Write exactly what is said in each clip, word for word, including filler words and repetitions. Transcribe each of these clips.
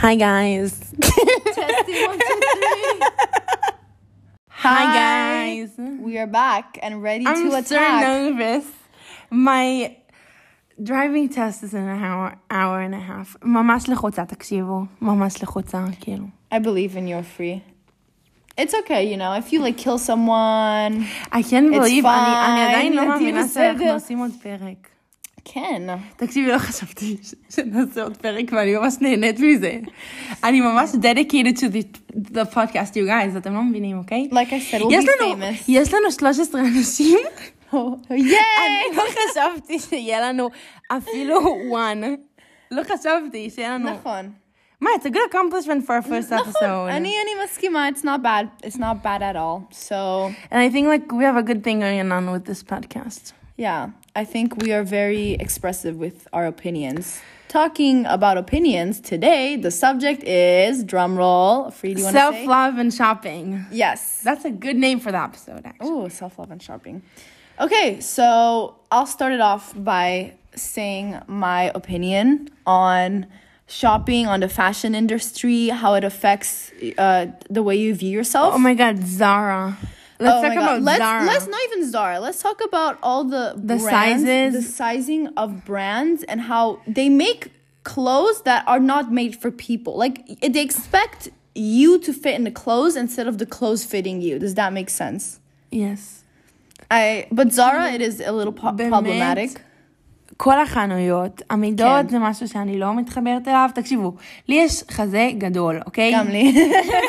Hi guys. Testing one, two, three. Hi guys. We are back and ready I'm to so attack. nervous. My driving test is in an hour, hour and a half. ממש לחוצה, תקשיבו. ממש לחוצה, כאילו. I believe in you're free. It's okay, you know, if you like kill someone, I can't It's believe, אני fine. אני עדיין לא תהיי מאמינה בסדר. שאנחנו עושים עוד פרק. כן. תקשיבי, לא חשבתי ש- שנעשה עוד פרק, ואני ממש נהנית מזה. אני ממש dedicated to the, the podcast, you guys, אתם לא מבינים, אוקיי? Like I said, we'll יש be לנו, famous. יש לנו שלוש עשרה אנשים. Yay! אני לא חשבתי שיהיה לנו אפילו one. לא חשבתי שיהיה לנו... נכון. מה, it's a good accomplishment for our first episode. אני אני מסכימה, it's not bad. It's not bad at all. So, And I think like we have a good thing going on with this podcast. yeah, I think we are very expressive with our opinions. Talking about opinions today, the subject is drum roll. Free, do you want to say? Self-love and shopping. Yes. That's a good name for the episode, actually. Oh, self-love and shopping. Okay, so I'll start it off by saying my opinion on shopping, on the fashion industry, how it affects uh, the way you view yourself. Oh my God, Zara. Let's Oh talk my God. about let's, Zara. Let's not even Zara. Let's talk about all the The brands, sizes. the sizing of brands, and how they make clothes that are not made for people. Like they expect you to fit in the clothes instead of the clothes fitting you. Does that make sense? Yes. I but Zara, it is a little po- באמת? problematic. כל החנויות, המידות כן. זה משהו שאני לא מתחברת אליו. תקשיבו, לי יש חזה גדול, אוקיי? גם לי.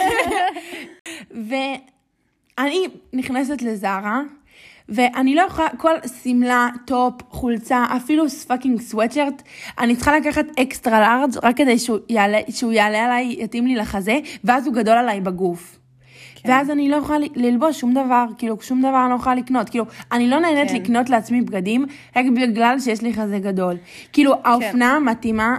ואני נכנסת לזרה, ואני לא יכולה, כל סמלה, טופ, חולצה, אפילו פאקינג סוואטשרט, אני צריכה לקחת אקסטרה לארג' רק כדי שהוא יעלה, שהוא יעלה עליי, יתאים לי לחזה, ואז הוא גדול עליי בגוף. כן. ואז אני לא יכולה ללבוש שום דבר, כאילו שום דבר אני לא יכולה לקנות, כאילו אני לא נהנית כן. לקנות לעצמי בגדים, רק בגלל שיש לי חזה גדול. כאילו האופנה מתאימה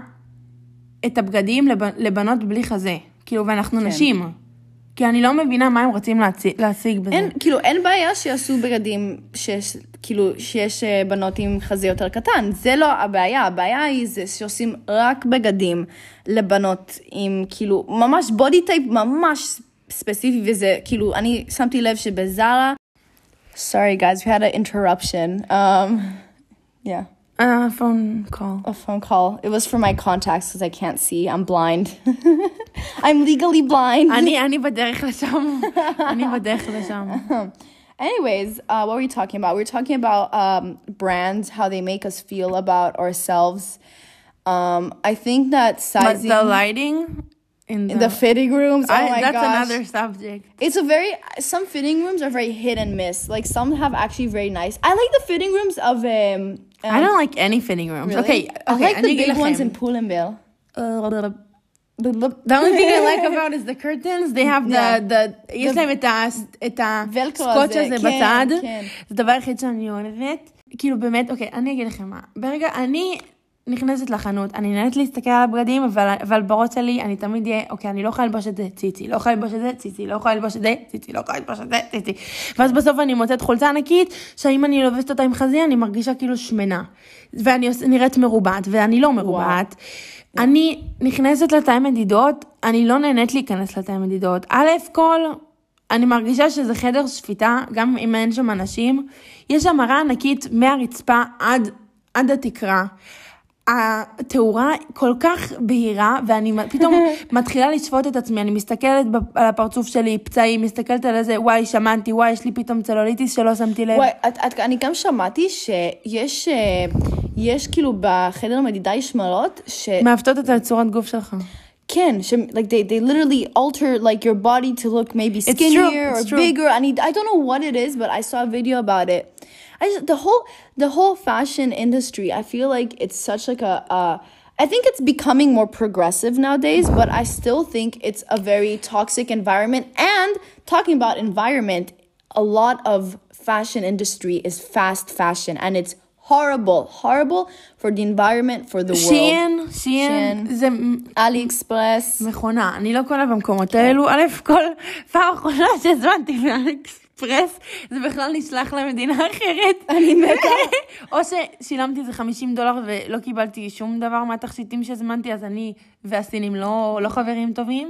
את הבגדים לב, לבנות בלי חזה, כאילו ואנחנו כן. נשים. כי אני לא מבינה מה הם רוצים להציג, להשיג בזה. אין, כאילו, אין בעיה שיעשו בגדים שיש, כאילו, שיש אה, בנות עם חזה יותר קטן. זה לא הבעיה. הבעיה היא זה שעושים רק בגדים לבנות עם, כאילו, ממש בודי טייפ ממש ספציפי, וזה, כאילו, אני שמתי לב שבזרה, sorry guys, we had an interruption. Um, yeah. A phone call. A phone call. It was for my contacts because I can't see. I'm blind. I'm legally blind. אני, אני בדרך לשם. אני בדרך לשם. Anyways, uh, what were we talking about? We were talking about um, brands, how they make us feel about ourselves. Um, I think that But sizing... the lighting in the, in the fitting rooms, oh I, my that's gosh. another subject. It's a very... Some fitting rooms are very hit and miss. Like, some have actually very nice... I like the fitting rooms of... Um, um, I don't like any fitting rooms. really? Okay, okay. I like the אני אגיד big ones in לכם. Pull&Bear. Uh, The only thing I like about is the curtains. They have the, Yeah. the, יש להם את ה, את הסקוץ' הזה, הזה כן, בצד. כן. זה דבר היחיד שאני אוהבת. כאילו באמת, אוקיי, אני אגיד לכם מה. ברגע, אני נכנסת לחנות, אני נהנית להסתכל על הבגדים, אבל, אבל בראש שלי, אני תמיד אהיה, אוקיי, אני לא יכולה ללבוש את זה, ציצי, לא יכולה ללבוש את זה, ציצי, לא יכולה ללבוש את זה, ציצי, לא יכולה ללבוש את זה, ציצי. ואז בסוף אני מוצאת חולצה ענקית, שאם אני לובשת אותה עם חזיר, אני מרגישה כאילו שמנה. ואני נראית מרובעת, ואני לא מרובעת. אני נכנסת לתאי מדידות, אני לא נהנית להיכנס לתאי מדידות. א' כל, אני מרגישה שזה חדר שפיטה, גם אם אין שם אנשים. יש שם מראה ענקית מהרצפה עד, עד התקרה. התאורה כל כך בהירה, ואני פתאום מתחילה לשפוט את עצמי, אני מסתכלת על הפרצוף שלי, פצעים, מסתכלת על איזה, וואי, שמנתי, וואי, יש לי פתאום צלוליטיס שלא שמתי לב. וואי, את, את, אני גם שמעתי שיש, יש כאילו בחדר מדידה יש שמלות, ש... מעוותות את הצורת גוף שלך. כן, ש... like they, they literally alter like your body to look maybe skinnier true, or true. bigger. I need, I don't know what it is, but I saw a video about it. I just, the whole, the whole fashion industry, I feel like it's such like a, uh, I think it's becoming more progressive nowadays, but I still think it's a very toxic environment. And talking about environment, a lot of fashion industry is fast fashion, and it's horrible, horrible for the environment, for the world. שיין, שיין, זה AliExpress. מכונה. אני לא קונה במקומות האלו. א' כל פעם אחרונה שהזמנתי מאליקספרס. אקספרס, זה בכלל נשלח למדינה אחרת. אני מתה. או ששילמתי איזה חמישים דולר ולא קיבלתי שום דבר מהתכשיטים שהזמנתי, אז אני והסינים לא, לא חברים טובים.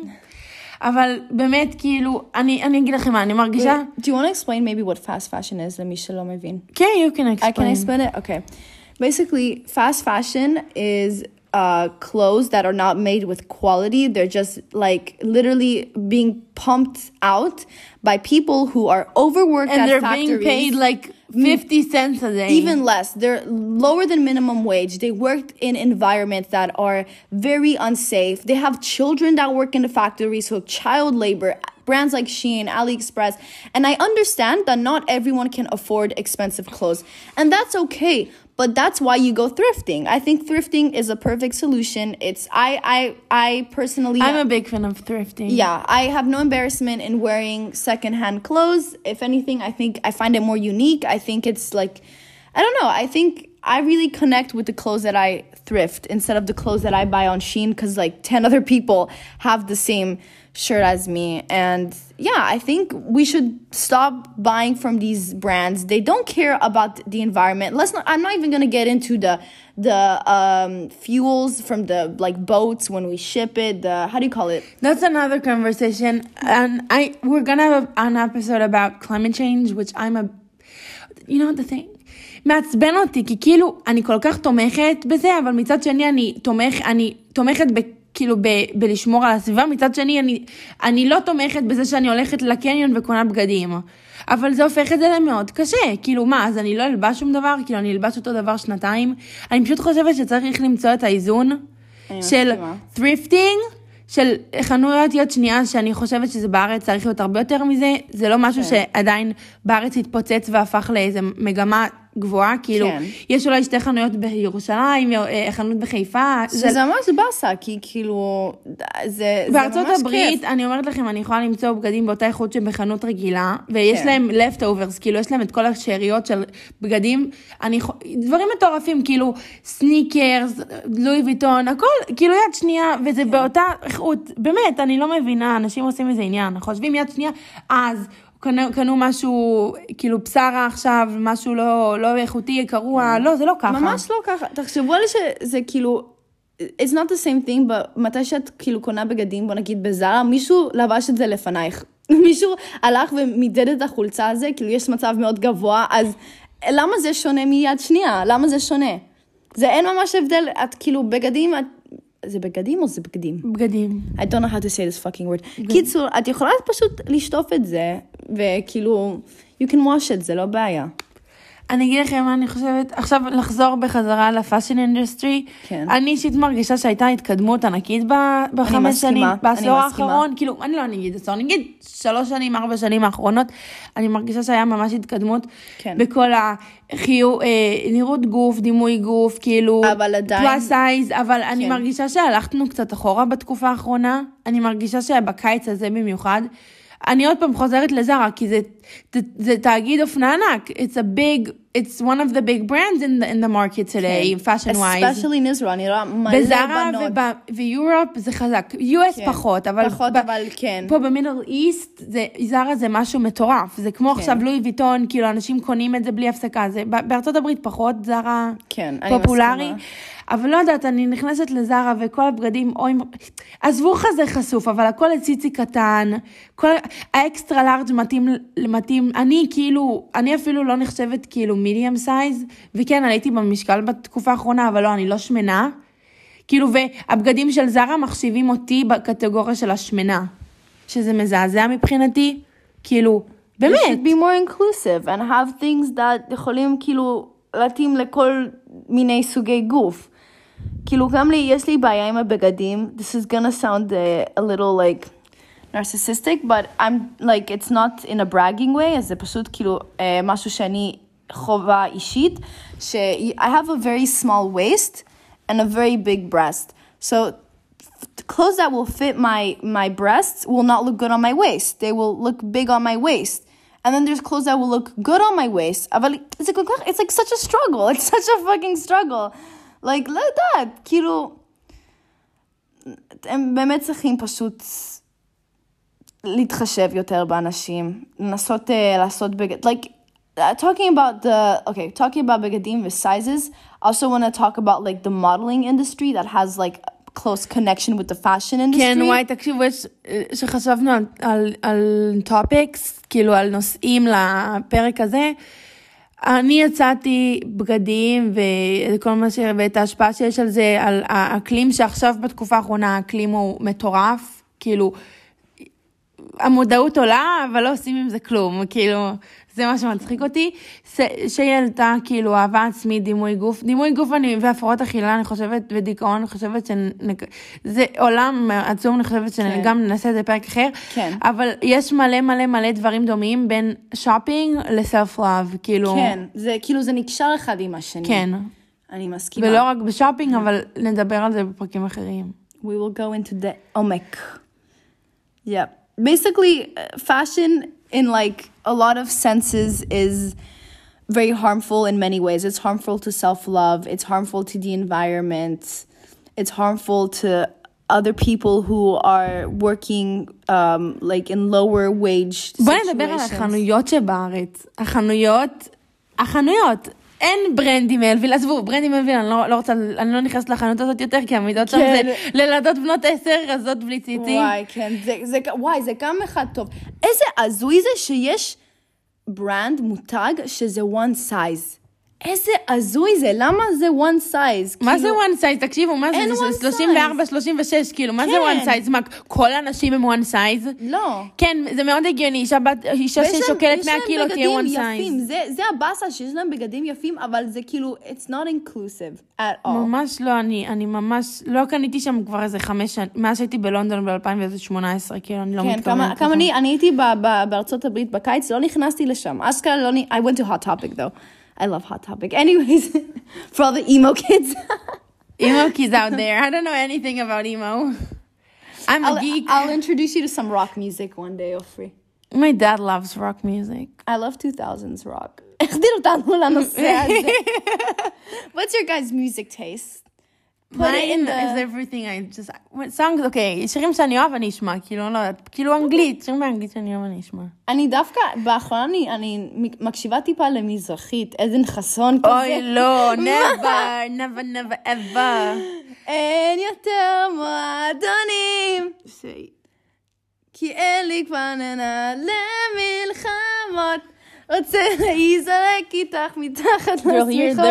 אבל באמת, כאילו, אני, אני אגיד לכם מה, אני מרגישה... Wait, do you want to explain maybe what fast fashion is, למי שלא מבין? כן, you can explain. I can explain it? Okay. Basically, fast fashion is uh, clothes that are not made with quality. They're just like literally being pumped out by people who are overworked and at they're factories. being paid like fifty cents a day. Even less. They're lower than minimum wage. They work in environments that are very unsafe. They have children that work in the factories, so child labor. Brands like Shein, AliExpress. And I understand that not everyone can afford expensive clothes. And that's okay. But that's why you go thrifting. I think thrifting is a perfect solution. It's I I I personally I'm a big fan of thrifting. Yeah, I have no embarrassment in wearing secondhand clothes. If anything, I think I find it more unique. I think it's like, I don't know. I think I really connect with the clothes that I thrift instead of the clothes that I buy on Shein because like ten other people have the same shirt as me. And yeah, I think we should stop buying from these brands. They don't care about the environment. Let's not, I'm not even going to get into the the um, fuels from the like boats when we ship it. The, how do you call it? That's another conversation. And I we're going to have an episode about climate change, which I'm a, you know the thing? מעצבן אותי, כי כאילו אני כל כך תומכת בזה, אבל מצד שני אני תומך, אני תומכת ב... כאילו ב, בלשמור על הסביבה, מצד שני אני, אני לא תומכת בזה שאני הולכת לקניון וקונה בגדים, אבל זה הופך את זה למאוד קשה, כאילו מה, אז אני לא אלבש שום דבר, כאילו אני אלבש אותו דבר שנתיים, אני פשוט חושבת שצריך למצוא את האיזון של ת'ריפטינג, של חנויות יד שנייה, שאני חושבת שזה בארץ צריך להיות הרבה יותר מזה, זה לא משהו שעדיין בארץ התפוצץ והפך לאיזה מגמה גבוהה, כאילו, כן. יש אולי שתי חנויות בירושלים, חנות בחיפה. זה, זה ממש באסה, כי כאילו, זה, בארצות זה ממש הברית, כיף. אני אומרת לכם, אני יכולה למצוא בגדים באותה איכות שבחנות רגילה, ויש כן. להם leftovers, כאילו, יש להם את כל השאריות של בגדים, אני, דברים מטורפים, כאילו, סניקרס, לואי ויטון, הכל, כאילו, יד שנייה, וזה כן. באותה איכות, באמת, אני לא מבינה, אנשים עושים איזה עניין, חושבים יד שנייה, אז, קנו, קנו משהו, כאילו בשרה עכשיו, משהו לא, לא איכותי, קרוע, לא, זה לא ככה. ממש לא ככה. תחשבו לי שזה כאילו, it's not the same thing, but מתי שאת כאילו קונה בגדים, בוא נגיד בזרה, מישהו לבש את זה לפנייך. מישהו הלך ומידד את החולצה הזה, כאילו יש מצב מאוד גבוה, אז למה זה שונה מיד שנייה? למה זה שונה? זה אין ממש הבדל, את כאילו בגדים, את, זה בגדים או זה בגדים? בגדים. I don't know how to say this fucking word. קיצור, את יכולה פשוט לשטוף את זה, וכאילו, you can wash it, זה לא בעיה. אני אגיד לכם מה אני חושבת, עכשיו לחזור בחזרה לפאשן אינדסטרי, כן. אני אישית מרגישה שהייתה התקדמות ענקית בחמש שנים, בעשור האחרון, כאילו, אני לא אגיד עשור, אני אגיד שלוש שנים, ארבע שנים האחרונות, אני מרגישה שהיה ממש התקדמות, כן. בכל החיו, אה, נראות גוף, דימוי גוף, כאילו, אבל עדיין, פלאס סייז, אבל כן. אני מרגישה שהלכתנו קצת אחורה בתקופה האחרונה, אני מרגישה שבקיץ הזה במיוחד, אני עוד פעם חוזרת לזרה, כי זה, זה, זה תאגיד אופנה ענק. It's a big, it's one of the big brands in the, in the market today, כן. fashion wise. Especially in Israel, אני רואה מלא בזרה בנות. ויורופ זה חזק. יו אס כן. פחות, אבל, פחות, ב, אבל כן. פה במידל איסט, זה, זרה זה משהו מטורף. זה כמו כן. עכשיו לואי ויטון, כאילו אנשים קונים את זה בלי הפסקה. זה, בארצות הברית פחות זרה כן, פופולרי. אבל לא יודעת, אני נכנסת לזרה וכל הבגדים, אוי, עזבו חזה חשוף, אבל הכל הציצי קטן, כל האקסטרה לארג' מתאים, מתאים, אני כאילו, אני אפילו לא נחשבת כאילו מידיום סייז, וכן, עליתי במשקל בתקופה האחרונה, אבל לא, אני לא שמנה, כאילו, והבגדים של זרה מחשיבים אותי בקטגוריה של השמנה, שזה מזעזע מבחינתי, כאילו, באמת. You should be more inclusive and have things that יכולים כאילו להתאים לכל מיני סוגי גוף. כאילו גם לי, יש לי בעיה עם הבגדים. This is gonna sound uh, a little like narcissistic, but I'm like, it's not in a bragging way, אז זה פשוט כאילו uh, משהו שאני חובה אישית, ש- I have a very small waist and a very big breast. So clothes that will fit my, my breasts will not look good on my waist. They will look big on my waist. And then there's clothes that will look good on my waist. אבל it's like, it's like such a struggle. It's such a fucking struggle. Like, like that. כאילו, הם באמת צריכים פשוט להתחשב יותר באנשים, לנסות uh, לעשות בגד, like, uh, talking about the, okay, talking about בגדים ו-sizes, I also want to talk about, like, the modeling industry that has, like, close connection with the fashion industry. כן, וואי, תקשיבו, יש, שחשבנו על, על, על topics, כאילו על נושאים לפרק הזה, אני יצאתי בגדים וכל מה ש... ואת ההשפעה שיש על זה, על האקלים שעכשיו בתקופה האחרונה האקלים הוא מטורף, כאילו, המודעות עולה, אבל לא עושים עם זה כלום, כאילו, זה מה שמצחיק אותי, שילתה, כאילו, אהבה עצמית, דימוי גוף, דימוי גוף אני, והפרעות אכילה, אני חושבת, ודיכאון, אני חושבת שזה עולם עצום, אני חושבת שגם ננסה את זה פרק אחר, כן. אבל יש מלא מלא מלא דברים דומים בין שופינג לסלף-לוב, כאילו. כן, זה, כאילו, זה נקשר אחד עם השני. כן. אני מסכימה. ולא רק בשופינג, אבל נדבר על זה בפרקים אחרים. We will go into the omic. Yeah. Basically, fashion in like a lot of senses is very harmful in many ways. It's harmful to self-love. It's harmful to the environment. It's harmful to other people who are working um, like in lower wage situations. בואי נדבר על החנויות שבארץ. החנויות, החנויות. אין ברנדי מלוויל, עזבו, ברנדי מלוויל, אני לא, לא רוצה, אני לא נכנסת לחנות הזאת יותר, כי המידות שם זה לילדות בנות עשר, רזות בלי ציצים. וואי, כן, זה, זה, וואי, זה גם אחד טוב. איזה עזוי זה שיש ברנד, מותג, שזה one size. איזה עזוי זה, למה זה one size? מה זה one size? תקשיבו, מה זה? זה שלושים וארבע, שלושים ושש, כאילו, מה זה one size? מה, כל האנשים הם one size? לא. כן, זה מאוד הגיוני, אישה ששוקלת מאה קילו תהיה one size. זה הבאסה שיש להם בגדים יפים, אבל זה כאילו, it's not inclusive at all. ממש לא, אני, אני ממש, לא קניתי שם כבר איזה חמש שנים, מאז שהייתי בלונדון ב-אלפיים שמונה עשרה, כאילו, אני לא מתכוונת. כן, כמה אני, אני הייתי בארצות הברית בקיץ, לא נכנסתי לשם. אסקר לא, I went to Hot Topic though. I love Hot Topic. Anyways, for all the emo kids. Emo kids out there. I don't know anything about emo. I'm I'll, a geek. I'll introduce you to some rock music one day, Ofri. My dad loves rock music. I love two thousands rock. What's your guys' music taste? Put Mine it in the... is everything I just... songs, okay, שירים שאני אוהב אני אשמע, כאילו, לא יודעת, כאילו אנגלית, שירים באנגלית שאני אוהב אני אשמע. אני דווקא, באחרונה אני, אני מקשיבה טיפה למזרחית, עדן חסון כזה. אוי, לא, never, never, never, ever. אין יותר מועדונים, כי אין לי כבר למלחמות, רוצה להיזרק איתך מתחת לשמיכות.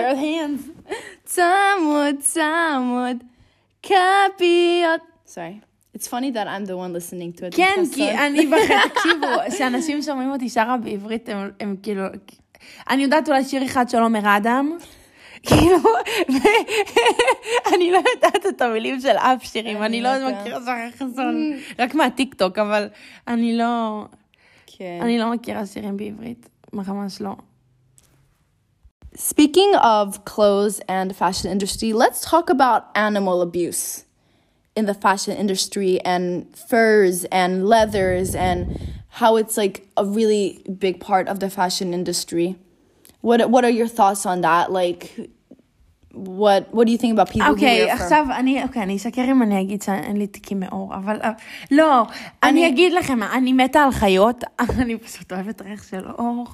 צמוד, צמוד, כפיות. Sorry. It's funny that I'm the one listening to it. כן, כי אני בחד, תקשיבו, שאנשים שומעים אותי שרה בעברית, הם, הם כאילו, אני יודעת אולי שיר אחד של עומר אדם, כאילו, אני לא יודעת את המילים של אף שירים, אני לא מכירה שרה חסון, רק מהטיקטוק, אבל אני לא, אני לא מכירה שירים בעברית, ממש לא. Speaking of clothes and fashion industry, let's talk about animal abuse in the fashion industry and furs and leathers and how it's like a really big part of the fashion industry. What what are your thoughts on that? Like, what what do you think about people okay, who wear fur? עכשיו אני, אוקיי, אני אשקר אם אני אגיד שאין לי תיקים מאור, אבל לא, אני אגיד לכם, אני מתה על חיות, אני פשוט אוהבת ריח של אור.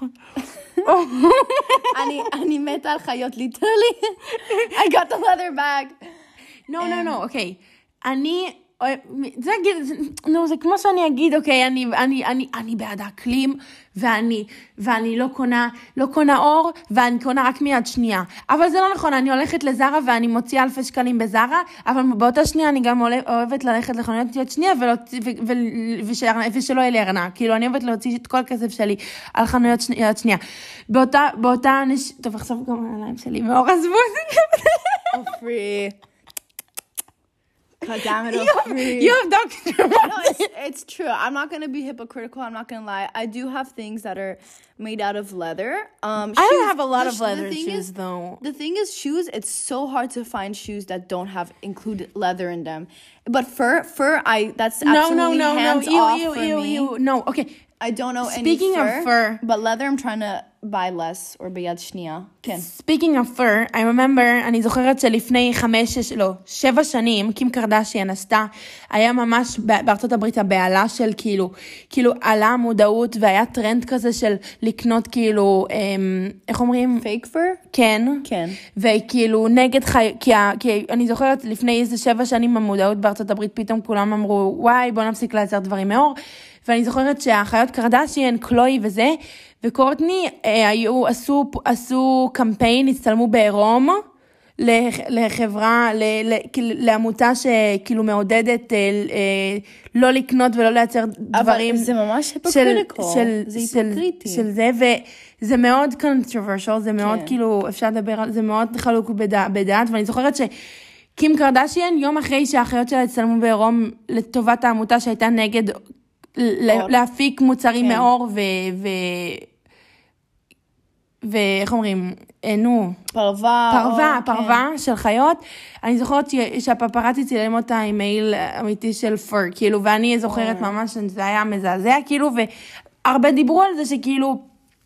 אני, אני מתה על חיות, literally. I got the leather bag. No, no, no, אוקיי. אני, זה, נו, זה כמו שאני אגיד, אוקיי, אני, אני, אני, אני בעד האקלים, ואני, ואני לא קונה, לא קונה אור, ואני קונה רק מיד שנייה. אבל זה לא נכון, אני הולכת לזרה, ואני מוציאה אלפי שקלים בזרה, אבל באותה שנייה אני גם אוהבת ללכת לחנויות יד שנייה, ושלא יהיה לי ארנק. כאילו, אני אוהבת להוציא את כל הכסף שלי על חנויות יד שנייה. באותה, באותה, טוב, עכשיו גם העיניים שלי מאור, עזבו את זה. Ofri. God damn it, Ofri. You have doctor. No, it's, it's true. I'm not going to be hypocritical. I'm not going to lie. I do have things that are made out of leather. Um, I shoes, don't have a lot the, of leather the shoes, is, though. The thing is, shoes, it's so hard to find shoes that don't have included leather in them. But fur, fur, I that's absolutely no, no, no, hands no. off you, for you, me. You, no, okay. I don't know any Speaking fur, of fur. but leather I'm trying to buy less or ביד שנייה. כן. Speaking of fur, I remember, אני זוכרת שלפני חמש, שש, לא, שבע שנים, קים קרדשיאן עשתה, היה ממש בארצות הברית הבעלה של כאילו, כאילו עלה המודעות, והיה טרנד כזה של לקנות כאילו, איך אומרים? Fake fur? כן. כן. וכאילו נגד חי... כי, כי אני זוכרת לפני איזה שבע שנים המודעות בארצות הברית, פתאום כולם אמרו, וואי, בוא נפסיק לייצר דברים מאור. ואני זוכרת שהאחיות קרדשיאן, קלוי וזה, וקורטני אה, היו, עשו, עשו קמפיין, הצטלמו בעירום, לח, לחברה, ל, ל, לעמותה שכאילו מעודדת אה, אה, לא לקנות ולא לייצר דברים. אבל זה ממש היפוקריטיקל. של, זה של, היפוקריטי. של, של זה, וזה מאוד controversial, זה מאוד כן. כאילו, אפשר לדבר על זה, מאוד חלוק בדע, בדעת, ואני זוכרת ש... קים קרדשיאן, יום אחרי שהאחיות שלה הצטלמו בעירום לטובת העמותה שהייתה נגד להפיק מוצרים מאור ו... ו... ואיך אומרים? נו. פרווה. פרווה, פרווה של חיות. אני זוכרת שהפפרצי צילם אותה עם מייל אמיתי של פר, כאילו, ואני זוכרת ממש שזה היה מזעזע, כאילו, והרבה דיברו על זה שכאילו,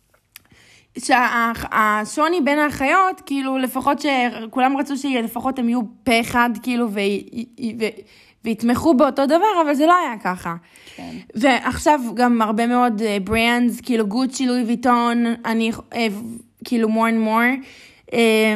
שהשוני בין החיות, כאילו, לפחות שכולם רצו שלפחות הם יהיו פה אחד, כאילו, ו... והתמכו באותו דבר, אבל זה לא היה ככה. כן. ועכשיו גם הרבה מאוד ברנדס, כאילו גוצ'י, לואי ויטון, אני, כאילו more and more,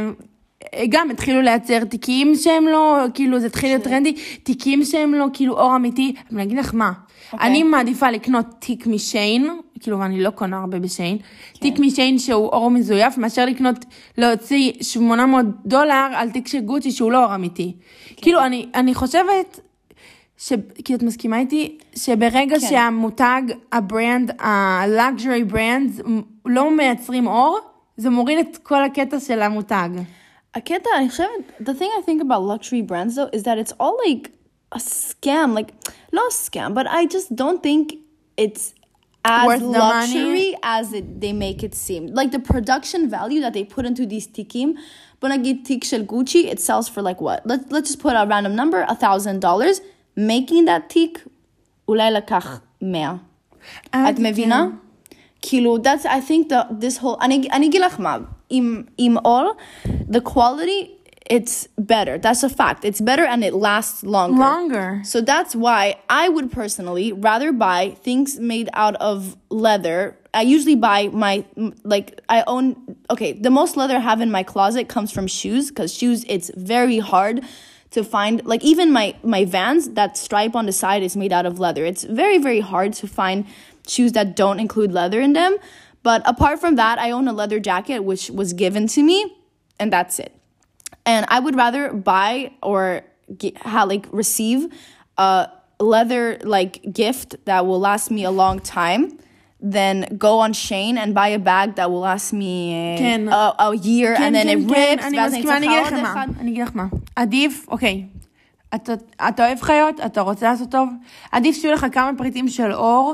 גם התחילו לייצר תיקים שהם לא, כאילו זה התחיל להיות טרנדי, תיקים שהם לא, כאילו אור אמיתי, אבל אני אגיד לך מה, okay. אני מעדיפה לקנות תיק משיין, כאילו ואני לא קונה הרבה בשיין, okay. תיק משיין שהוא אור מזויף, מאשר לקנות, להוציא שמונה מאות דולר על תיק של גוצ'י שהוא לא אור אמיתי. Okay. כאילו אני, אני חושבת, ש... כי את מסכימה איתי, שברגע כן. שהמותג, הברנד, הלאגז'רי ברנד, לא מייצרים אור, זה מוריד את כל הקטע של המותג. הקטע, אני חושבת, the thing I think about luxury brands though, is that it's all like a scam, like, not a scam, but I just don't think it's as worth luxury as it, they make it seem. Like the production value that they put into these tikim, but nagid tik shel Gucci, it sells for like what? Let, let's just put a random number, a thousand dollars. Making that תיק, אולי לקח מאה. את מבינה? כאילו, that's, I think the, this whole, אני, אני אגיד לך מה, עם, עם all, the quality, it's better. That's a fact. It's better and it lasts longer. Longer. So that's why I would personally rather buy things made out of leather. I usually buy my, like, I own, okay, the most leather I have in my closet comes from shoes, because shoes, it's very hard to find, like even my, my Vans, that stripe on the side is made out of leather. It's very, very hard to find shoes that don't include leather in them. But apart from that, I own a leather jacket, which was given to me, and that's it. And I would rather buy or get, ha, like receive a leather like gift that will last me a long time than go on Shein and buy a bag that will last me כן. a, a year כן, and then כן, it כן. rips. אני מסכימה, אני אגיד לך מה. אני אגיד לך מה. עדיף, אוקיי. אתה, אתה אוהב חיות, אתה רוצה לעשות טוב, עדיף שיהיו לך כמה פריטים של אור,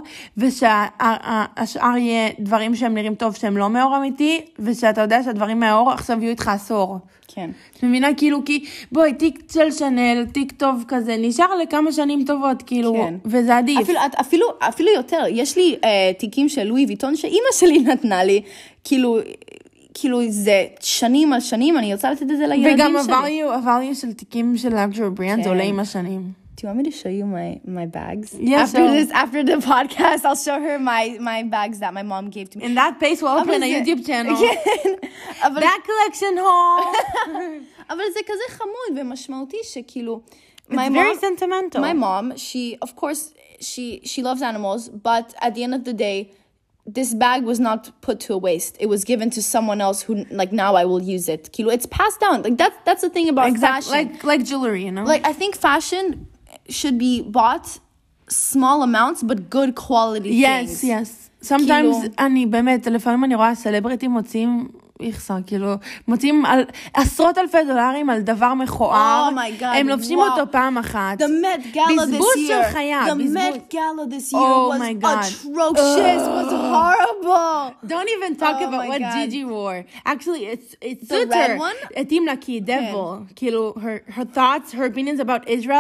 ושהשאר יהיה דברים שהם נראים טוב, שהם לא מאור אמיתי, ושאתה יודע שהדברים מהאור עכשיו יהיו איתך עשור. כן. את מבינה? כאילו, כי, בואי, תיק של שנל, תיק טוב כזה, נשאר לכמה שנים טובות, כאילו, כן. וזה עדיף. אפילו, אפילו, אפילו יותר, יש לי uh, תיקים של לואי ויטון, שאימא שלי נתנה לי, כאילו, כאילו זה שנים על שנים, אני רוצה לתת את זה לילדים וגם שלי. וגם הvalue של תיקים של luxury brands, זה עולה עם השנים. Do you want me to show you my, my bags? Yes. After this, after the podcast, I'll show her my, my bags that my mom gave to me. In that pace, we'll open a YouTube channel. אבל... That collection haul. אבל זה כזה חמוד ומשמעותי שכאילו... It's very sentimental. My mom, she, of course, she, she loves animals, but at the end of the day, this bag was not put to a waste. It was given to someone else who, like, now I will use it. Kilo, it's passed down. Like, that's, that's the thing about exactly. fashion. Like, like jewelry, you know? Like, I think fashion should be bought small amounts, but good quality yes, things. Yes, yes. Sometimes, אני באמת, לפעמים אני רואה סלבריטים מוצאים, יחסר, כאילו, מוצאים על עשרות אלפי דולרים על דבר מכוער. Oh my God, הם לובשים wow. אותו פעם אחת. The Met Gala this בזבוז year. של חיה. The בזבוז. Met Gala this year oh was my God. atrocious, uh, was horrible. Don't even talk oh about what God. Gigi wore. Actually, it's it's the suits red her. one? התאים לה כי devil. כאילו, her, her thoughts, her opinions about Israel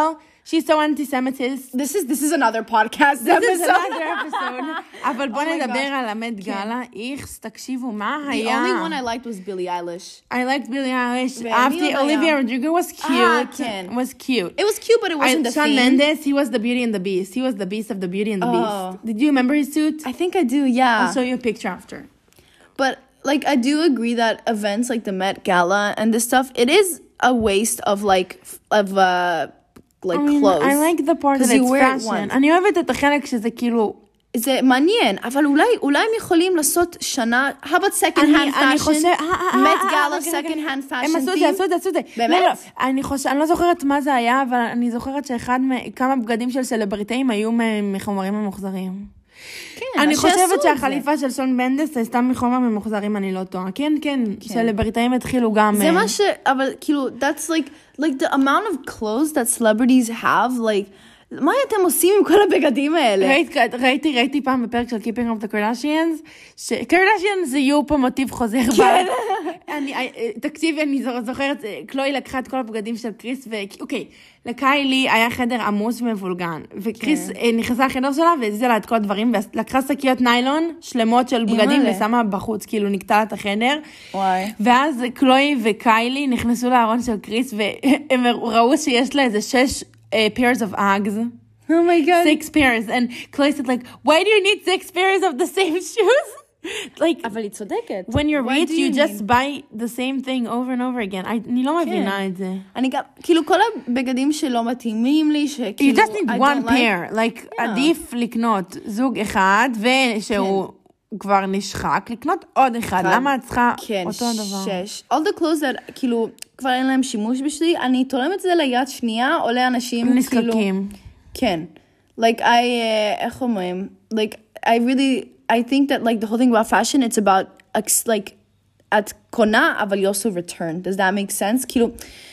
she's so anti-Semitist. This is this is another podcast This is episode. another episode. אבל בוא Oh my נדבר gosh. על המט גאלה. איכס, תקשיבו, מה The היה? only one I liked was Billie Eilish. I liked Billie Eilish. ומי אהבתי, עוד היה? Olivia Rodrigo was cute. אה, כן. was cute. It was cute, but it wasn't I, the Shawn theme. Mendes, he was the Beauty and the Beast. He was the Beast of the Beauty and the Oh. Beast. Did you remember his suit? I think I do, yeah. I'll show you a picture after. But like I do agree that events like the Met Gala and this stuff, it is a waste of like f- of uh like I mean, clothes. I like the part that 'Cause you it's wear it fashion. once. אני אוהבת את החלק שזה כאילו... זה מעניין, אבל אולי, אולי הם יכולים לעשות שנה, how about second אני- hand אני fashion? חושב... אה, אה, Met אה, Gala אה, רגע, רגע. second hand fashion הם עשו את זה, theme? עשו את זה, עשו את זה. באמת? לא, לא, אני חושב, אני לא זוכרת מה זה היה, אבל אני זוכרת שאחד, מ- כמה בגדים של סלבריטאים היו מ- מחומרים ממוחזרים. כן, אני שיעשו חושבת את זה. שהחליפה של שון מנדס הייתה מחומר ממוחזרים, אני לא טועה. כן, כן, סלבריטאים התחילו גם... זה אה, מה ש... אבל כאילו, that's like, like the amount of clothes that celebrities have, like, מה אתם עושים עם כל הבגדים האלה? ראיתי, ראיתי, ראיתי פעם בפרק של Keeping Up the Kardashians, שקרדשיאנס יהיו פה מוטיב חוזר. כן. אני, תקשיבי, אני זוכרת, קלוי לקחה את כל הבגדים של קריס, ואוקיי, לקיילי היה חדר עמוס ומבולגן, וקריס נכנסה לחדר שלה והזיזה לה את כל הדברים, ולקחה שקיות ניילון שלמות של בגדים ושמה בחוץ, כאילו נקטה לה את החדר. וואי. ואז קלוי וקיילי נכנסו לארון של קריס, והם ראו שיש לה איזה שש... Uh, pairs of Uggs. Oh my god. Six pairs. And Chloe said, like, why do you need six pairs of the same shoes? like, אבל היא צודקת. when you're Why rich, do you, you just need- buy the same thing over and over again. I, אני לא מבינה את זה. אני גם, כאילו כל הבגדים שלא מתאימים לי, You שכאילו, just need I one don't like- pair. Like, עדיף לקנות זוג אחד, ושהוא כבר נשחק, לקנות עוד אחד. למה את צריכה כן, אותו דבר? שש. All the clothes that, כאילו, כבר אין להם שימוש בשבילי, אני תורמת את זה ליד שנייה, או לאנשים, כאילו... נזקקים. כן. Like, I, uh, איך אומרים? Like, I really, I think that, like, the whole thing about fashion, it's about, like, את קונה, אבל you also return. Does that make sense? כאילו,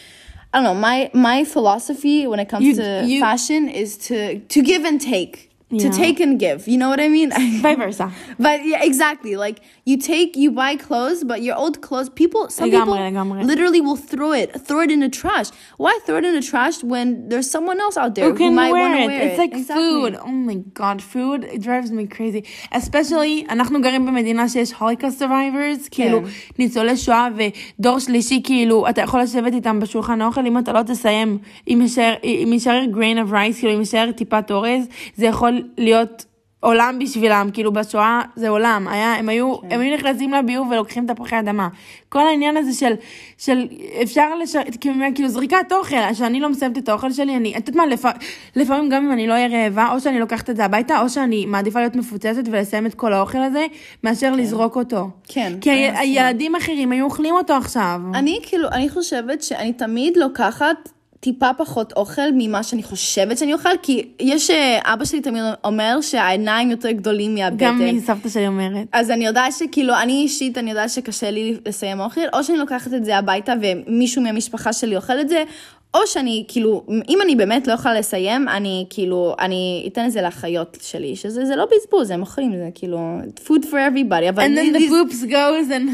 I don't know, my, my philosophy when it comes You- to you- fashion is to, to give and take. To Yeah. take and give. You know what I mean? Vice versa. But yeah, exactly. Like you take, you buy clothes, but your old clothes, people, some לגמרי, people לגמרי. literally will throw it, throw it in the trash. Why throw it in the trash when there's someone else out there Who who, can might wear want to it? wear It's it? like Exactly. food. Oh my god, food, it drives me crazy. Especially, אנחנו גרים במדינה שיש holocaust survivors, כאילו ניצולי שואה ודור שלישי, כאילו, אתה יכול לשבת איתם בשולחן האוכל, אם אתה לא תסיים, אם יישאר, אם יישאר grain of rice, כאילו, אם יישאר טיפת אורז, זה יכול להיות... עולם בשבילם, כאילו בשואה זה עולם, היה, הם היו, הם היו נכנסים לביוב ולוקחים תפוחי אדמה. כל העניין הזה של, של אפשר לש... כאילו, כאילו זריקת אוכל, שאני לא מסיימת את האוכל שלי, אני, את יודעת מה, לפ... לפעמים גם אם אני לא אהיה רעבה, או שאני לוקחת את זה הביתה, או שאני מעדיפה להיות מפוצצת ולסיים את כל האוכל הזה, מאשר לזרוק אותו. כן. כי ה... הילדים אחרים היו אוכלים אותו עכשיו. אני כאילו, אני חושבת שאני תמיד לוקחת טיפה פחות אוכל ממה שאני חושבת שאני אוכל, כי יש, אבא שלי תמיד אומר שהעיניים יותר גדולים מהבטן. גם מסבתא שלי אומרת. אז אני יודעת שכאילו, אני אישית, אני יודעת שקשה לי לסיים אוכל, או שאני לוקחת את זה הביתה ומישהו מהמשפחה שלי אוכל את זה, או שאני כאילו, אם אני באמת לא יכולה לסיים, אני כאילו, אני אתן את זה לאחיות שלי, שזה זה לא בזבוז, הם אוכלים, זה כאילו, food for everybody. אבל And then the these- poops goes and...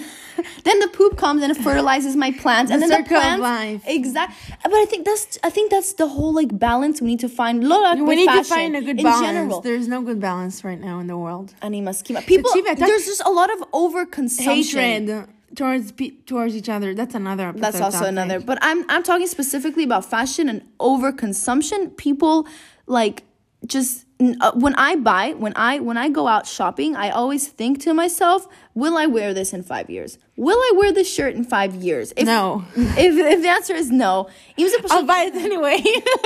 then the poop comes and it fertilizes my plants, and The then the circle of plants, life. exactly. But I think that's, I think that's the whole like balance we need to find. לא רק We need to fashion, find a good in balance. general. There's no good balance right now in the world. אני מסכימה. People, תקשיבי, אתה- there's just a lot of overconsumption. Hatred towards pe- towards each other. That's another episode. That's also topic. another. But I'm I'm talking specifically about fashion and overconsumption. People like just uh, when I buy, when I when I go out shopping, I always think to myself, will I wear this in five years? Will I wear this shirt in five years? If, No. If if the answer is no, אם זה I'll פשוט- buy it anyway.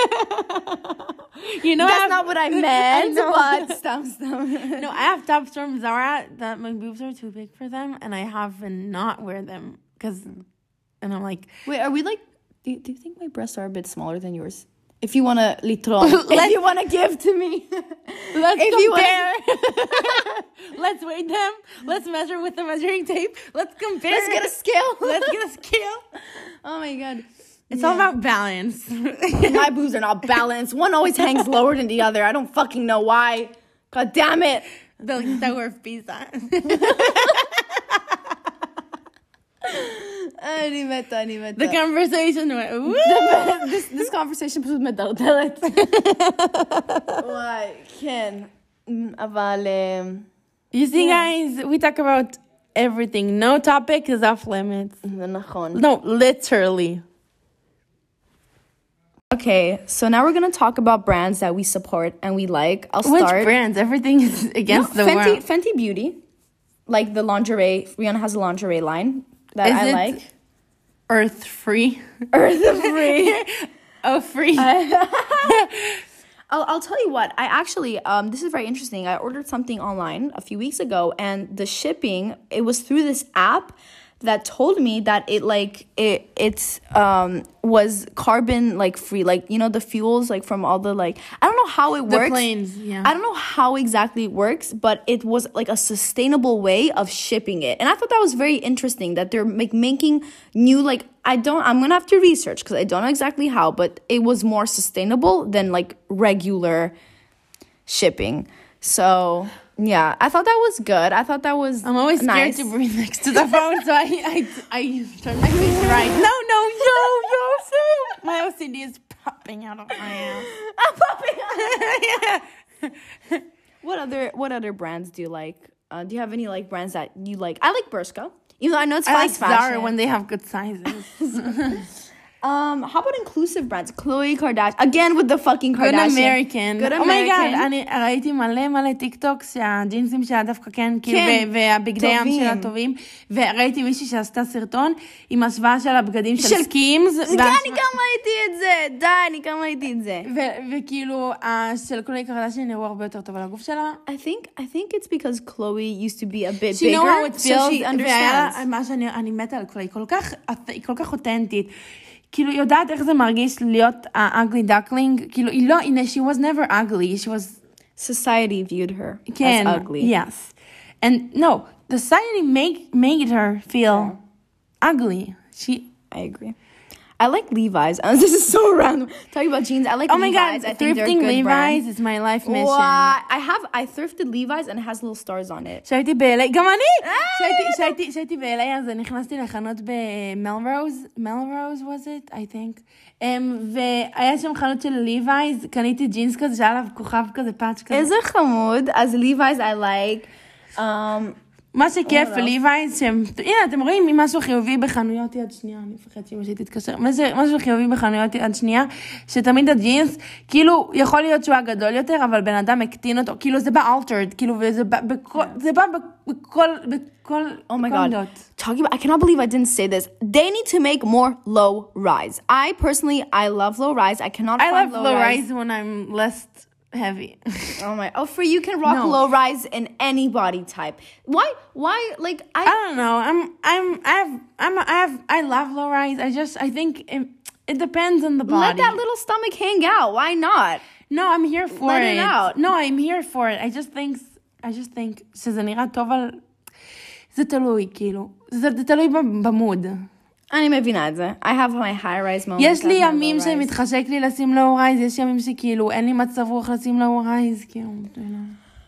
You know, I that's have- not what I meant, know. but stop, stop. No, I have tops from Zara that my boobs are too big for them, and I have not wear them because, and I'm like, Wait, are we like? Do you, do you think my breasts are a bit smaller than yours? If you wanna litron, if you wanna give to me, let's If you compare. Let's weigh them. Let's measure with the measuring tape. Let's compare. let's get a scale. Let's get a scale. Oh my god. It's all about balance. My boobs are not balanced. One always hangs lower than the other. I don't fucking know why. God damn it. The Tower of Pisa. אני מתה, אני מתה. The conversation went, woo! this, this conversation פשוט מדרדרת. וואי, כן. אבל... You see, guys, we talk about everything. No topic is off limits. זה נכון. No, literally. Okay, so now we're going to talk about brands that we support and we like. I'll Which start. brands? Everything is against No, the Fenty, world. Fenty Beauty. Like the lingerie. Rihanna has a lingerie line that Is I it like. Earth free. Earth free. Oh, free. I'll, I'll tell you what, I actually, um, this is very interesting. I ordered something online a few weeks ago and the shipping, it was through this app that told me that it like, it it's, um, was carbon like free, like, you know, the fuels like from all the like, I don't know how it The works. planes, yeah. I don't know how exactly it works, but it was like a sustainable way of shipping it. And I thought that was very interesting that they're like making new, like, I don't, I'm going to have to research because I don't know exactly how, but it was more sustainable than like regular shipping. So yeah, I thought that was good. I thought that was I'm always scared nice. to breathe next to the phone, so I I, I turn my face right. No, no, no, no, no. My O C D is popping out of my ass. I'm popping out. What other what other brands do you like? Uh, do you have any like brands that you like? I like Bershka, even though I know it's I like fast fashion. Zara when they have good sizes. Um, how about inclusive brands? Khloe Kardashian again with the fucking Good Kardashian. American. Good Oh my god, American. אני ראיתי מלא מלא טיק טוקס שהג'ינסים שלה דווקא כן, כאילו, כן, ו- והבגדי ים טובים. שלה טובים. וראיתי מישהי שעשתה סרטון עם השוואה של הבגדים של של- סקימס. אני גם ראיתי את זה. די, אני גם ראיתי את זה. ו- וכאילו, ה- של קלוי קרדשיין נראו הרבה יותר טוב על הגוף שלה. I think I think it's because Khloe used to be a bit She know how bigger, it so feels. she והיה understands. לה- מה שאני אני מתה על קלוי, כל כך, היא כל כך אותנטית. כאילו, יודעת איך זה מרגיש להיות ה-ugly duckling? כאילו, היא לא, הנה, she was never ugly, she was... Society viewed her כן, as ugly. yes. And no, the society make, made her feel ugly. She... I agree. I like Levi's. Uh, this is so random. Talking about jeans, I like Oh my Levi's. god, I think they're a thrifting good Levi's brand. is my life mission. Wow. I have I thrifted Levi's and it has little stars on it. שהייתי ב-אל איי, גם אני! שהייתי- שהייתי- שהייתי ב-אל איי, אז נכנסתי לחנות במלרוז, מלרוז was it, I think. Um, והיה שם חנות של ליווייז, קניתי ג'ינס כזה, שהיה עליו כוכב כזה, פאץ' כזה. איזה חמוד. אז Levi's I like. Um, מה שכיף Oh, בליווייז, שהם, הנה, אתם רואים משהו חיובי בחנויות יד שנייה, אני מפחד שאמא שלי תתקשר, משהו משהו חיובי בחנויות יד שנייה, שתמיד הג'ינס, כאילו, יכול להיות שהוא הגדול יותר, אבל בן אדם הקטין אותו, כאילו, זה בא altered, כאילו, וזה בא בכל, זה בא בכל, בכל, oh my בכל god. עמדות. Talking about I cannot believe I didn't say this. They need to make more low rise. I personally I love low rise. I cannot I find love low low rise. rise when I'm less heavy. Oh my! Oh, for you can rock No. low rise in any body type. Why? Why? Like I. I don't know, I'm, I'm, I have, I'm, I have, I love low rise, I just, I think it, it depends on the body. Let that little stomach hang out. Why not? No, I'm here for Let it. it out. No, I'm here for it. I just think, I just think שזה נראה טוב על... זה תלוי, כאילו. זה, זה תלוי במוד. אני מבינה את זה. I have my high rise moment. יש לי I have my ימים low rise. שמתחשק לי לשים לואו רייז, יש ימים שכאילו אין לי מצב רוח לשים לואו רייז, כאילו, אתה יודע.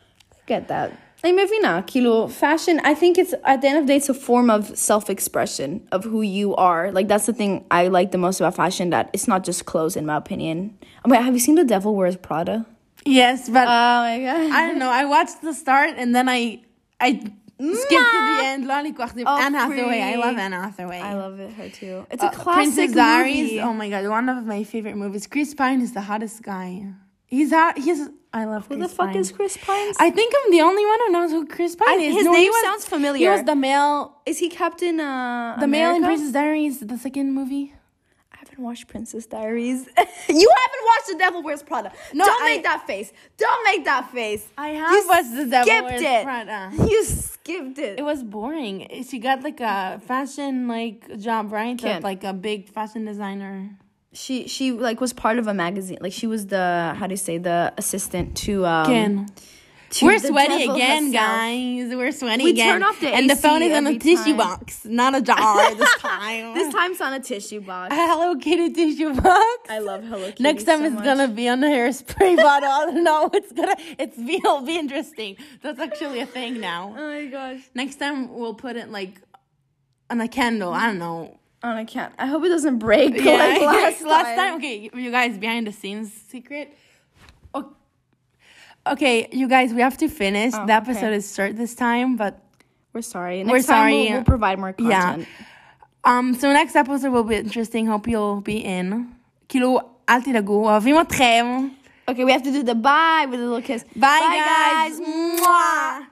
Get that. אני מבינה. כאילו, fashion, I think it's, at the end of the day, it's a form of self-expression of who you are. Like, that's the thing I like the most about fashion, that it's not just clothes, in my opinion. Oh my, have you seen The Devil Wears Prada? Yes, but Oh my god. I don't know, I watched the start and then I, I skipped to the end. לא אני כוח, Oh, Anne Hathaway, I free. love Anne Hathaway. I love it, her too. It's Uh, a classic Princess Diaries, movie. oh my god, one of my favorite movies. Chris Pine is the hottest guy. He's hot. He's. I love. Who Chris the fuck Pine. is Chris Pine? I think I'm the only one who knows who Chris Pine I- is. his No, he name was- sounds familiar. He was the male, Is he Captain uh, the male in America? Princess Diaries, the second movie. I haven't watched Princess Diaries. You haven't watched The Devil Wears Prada. No, Don't I- make that face. Don't make that face. I have You watched The Devil skipped Wears it. Prada. You skipped it. It was boring. She got like a fashion like job, right? Ken. Of, like a big fashion designer. She she like was part of a magazine. Like she was the how do you say the assistant to um. Ken. to We're the sweaty devil again, herself. guys. We're sweaty We again. turn off the and the A C phone is in a every tissue time. box, not a jar this time. This time it's on a tissue box. A Hello Kitty tissue box. I love Hello Kitty. Next time so it's much. gonna be on a hairspray bottle. I don't know. It's gonna. It's be. It'll be interesting. That's actually a thing now. Oh my gosh. Next time we'll put it like on a candle. I don't know. Oh, I can't. I hope it doesn't break Yeah, like last, last time. time. Okay, you guys, behind the scenes secret. O- Okay, you guys, we have to finish. Oh, the episode okay. is short this time, but We're sorry. Next We're time sorry. We'll, we'll provide more Yeah. content. um, so next episode will be interesting. Hope you'll be in. כאילו, אל תדאגו, אוהבים אתכם. Okay, we have to do the bye with a little kiss. Bye, guys. Mwah.